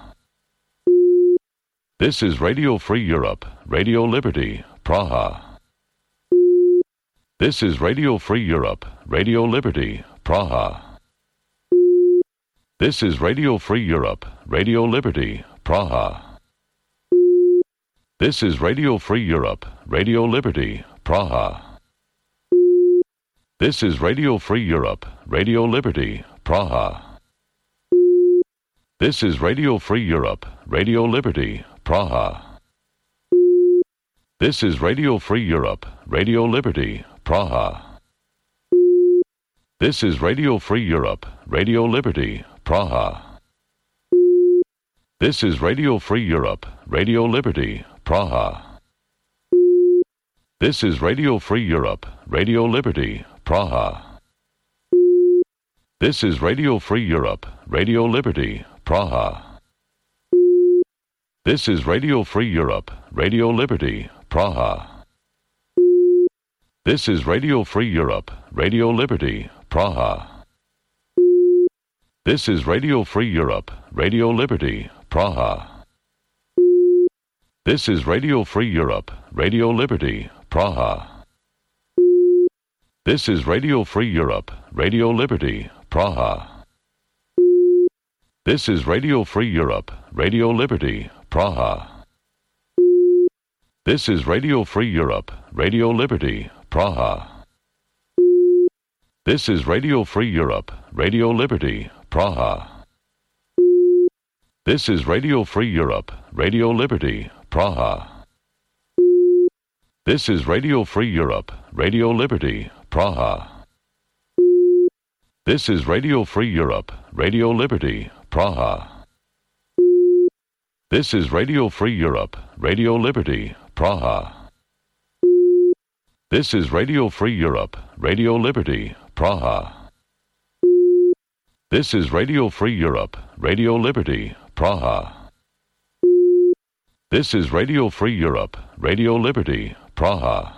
This is Radio Free Europe, Radio Liberty, Praha. This is Radio Free Europe, Radio Liberty, Praha. This is Radio Free Europe, Radio Liberty, Praha. This is Radio Free Europe, Radio Liberty, Praha. This is Radio Free Europe, Radio Liberty, Praha. This is Radio Free Europe, Radio Liberty, Praha. This is Radio Free Europe, Radio Liberty, Praha. This is Radio Free Europe, Radio Liberty, Praha. This is Radio Free Europe, Radio Liberty, Praha. This is Radio Free Europe, Radio Liberty, Praha. This is Radio Free Europe, Radio Liberty, Praha. This is Radio Free Europe, Radio Liberty, Praha. This is Radio Free Europe, Radio Liberty, Praha. This is Radio Free Europe, Radio Liberty, Praha. This is Radio Free Europe, Radio Liberty, Praha. This is Radio Free Europe, Radio Liberty, Praha. This is Radio Free Europe, Radio Liberty, Praha. This is Radio Free Europe, Radio Liberty, Praha. This is Radio Free Europe, Radio Liberty, Praha. This is Radio Free Europe, Radio Liberty, Praha. This is Radio Free Europe, Radio Liberty, Praha. This is Radio Free Europe, Radio Liberty, Praha. This is Radio Free Europe, Radio Liberty, Praha. This is Radio Free Europe, Radio Liberty, Praha. This is Radio Free Europe, Radio Liberty, Praha. This is Radio Free Europe, Radio Liberty, Praha.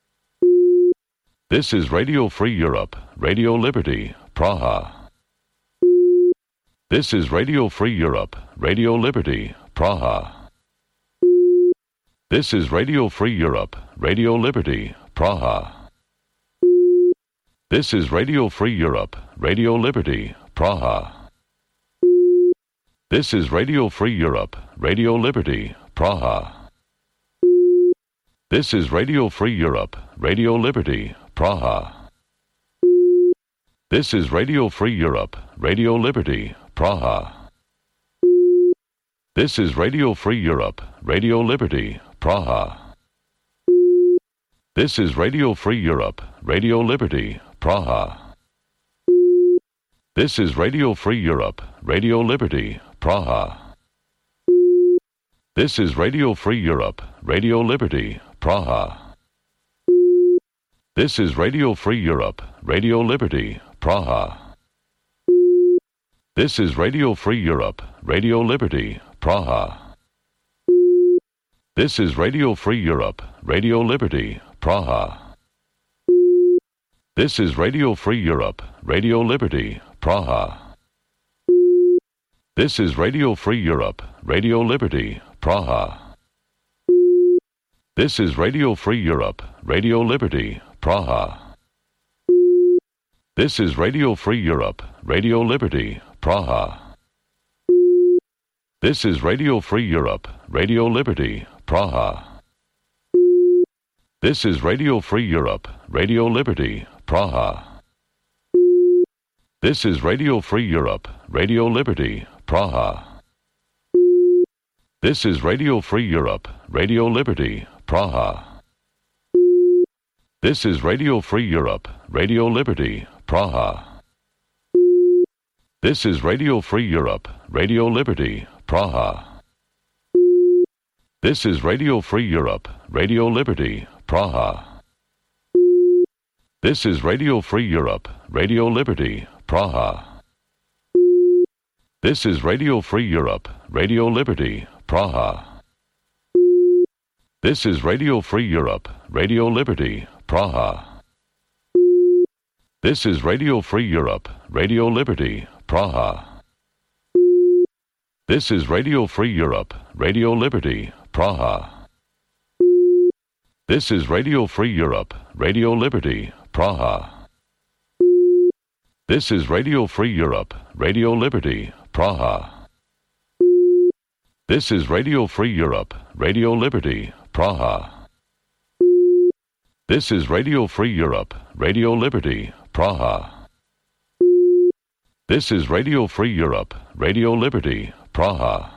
This is Radio Free Europe, Radio Liberty, Praha. This is Radio Free Europe, Radio Liberty, Praha. This is Radio Free Europe, Radio Liberty, Praha. This is Radio Free Europe, Radio Liberty, Praha. This is Radio Free Europe, Radio Liberty, Praha. This is Radio Free Europe, Radio Liberty, Praha. This is Radio Free Europe, Radio Liberty, Praha. This is Radio Free Europe, Radio Liberty, Praha. This is Radio Free Europe, Radio Liberty, Praha. This is Radio Free Europe, Radio Liberty, Praha. This is Radio Free Europe, Radio Liberty, Praha. This is Radio Free Europe, Radio Liberty, Praha. This is Radio Free Europe, Radio Liberty, Praha. This is Radio Free Europe, Radio Liberty, Praha. This is Radio Free Europe, Radio Liberty, Praha. This is Radio Free Europe, Radio Liberty, Praha. This is Radio Free Europe, Radio Liberty, Praha. This is Radio Free Europe, Radio Liberty, Praha. This is Radio Free Europe, Radio Liberty, Praha. This is Radio Free Europe, Radio Liberty, Praha. This is Radio Free Europe, Radio Liberty, Praha. This is Radio Free Europe, Radio Liberty, Praha. This is Radio Free Europe, Radio Liberty, Praha. This is Radio Free Europe, Radio Liberty, Praha. This is Radio Free Europe, Radio Liberty, Praha. This is Radio Free Europe, Radio Liberty, Praha. This is Radio Free Europe, Radio Liberty, Praha. This is Radio Free Europe, Radio Liberty, Praha. This is Radio Free Europe, Radio Liberty, Praha. This is Radio Free Europe, Radio Liberty, Praha. This is Radio Free Europe, Radio Liberty, Praha. This is Radio Free Europe, Radio Liberty, Praha. This is Radio Free Europe, Radio Liberty, Praha. This is Radio Free Europe, Radio Liberty, Praha. This is Radio Free Europe, Radio Liberty, Praha.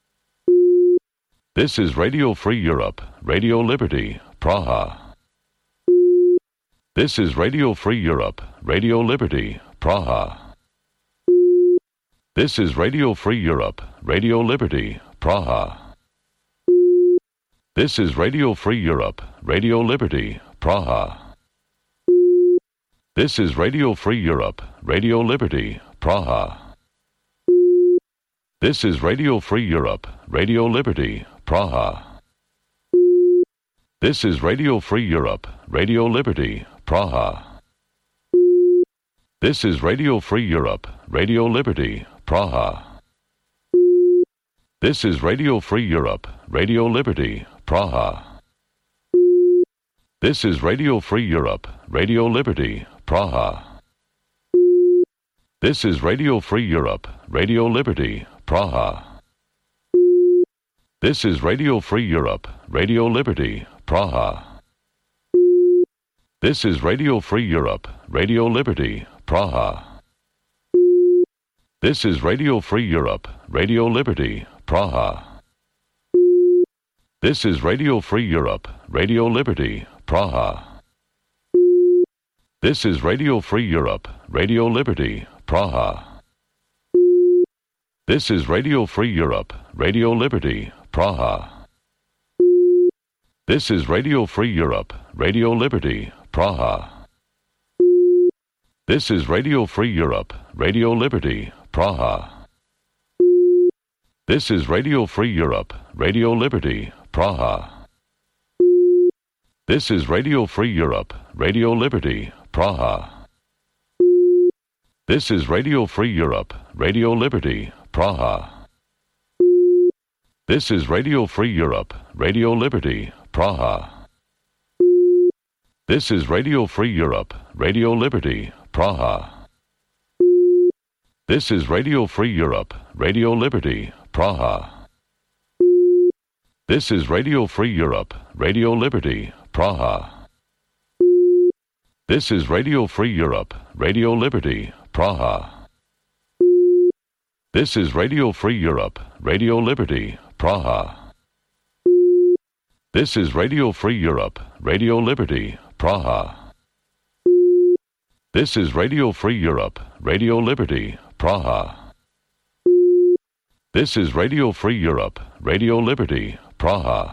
This is Radio Free Europe, Radio Liberty, Praha. This is Radio Free Europe, Radio Liberty, Praha. This is Radio Free Europe, Radio Liberty, Praha. This is Radio Free Europe, Radio Liberty, Praha. This is Radio Free Europe, Radio Liberty, Praha. This is Radio Free Europe, Radio Liberty, Praha. This is Radio Free Europe, Radio Liberty, Praha. This is Radio Free Europe, Radio Liberty, Praha. This is Radio Free Europe, Radio Liberty, Praha. This is Radio Free Europe, Radio Liberty, Praha. This is Radio Free Europe, Radio Liberty, Praha. This is Radio Free Europe, Radio Liberty, Praha. This is Radio Free Europe, Radio Liberty, Praha. This is Radio Free Europe, Radio Liberty, Praha. This is Radio Free Europe, Radio Liberty, Praha. This is Radio Free Europe, Radio Liberty, Praha. This is Radio Free Europe, Radio Liberty, Praha. This is Radio Free Europe, Radio Liberty, Praha. This is Radio Free Europe, Radio Liberty, Praha. This is Radio Free Europe, Radio Liberty, Praha. This is Radio Free Europe, Radio Liberty, Praha. This is Radio Free Europe, Radio Liberty, Praha. This is Radio Free Europe, Radio Liberty, Praha. This is Radio Free Europe, Radio Liberty, Praha. This is Radio Free Europe, Radio Liberty, Praha. This is Radio Free Europe, Radio Liberty, Praha. This is Radio Free Europe, Radio Liberty, Praha. This is Radio Free Europe, Radio Liberty, Praha. This is Radio Free Europe, Radio Liberty, Praha. This is Radio Free Europe, Radio Liberty, Praha. This is Radio Free Europe, Radio Liberty, Praha.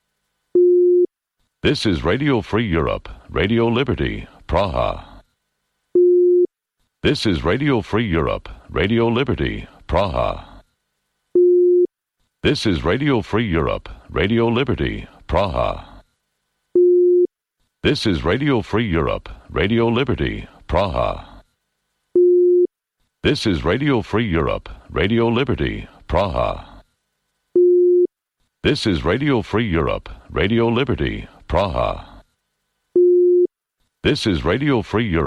This is Radio Free Europe, Radio Liberty, Praha. This is Radio Free Europe, Radio Liberty, Praha. This is Radio Free Europe, Radio Liberty, Praha. This is Radio Free Europe, Radio Liberty, Praha. This is Radio Free Europe, Radio Liberty, Praha. This is Radio Free Europe, Radio Liberty, Praha. This is Radio Free Europe.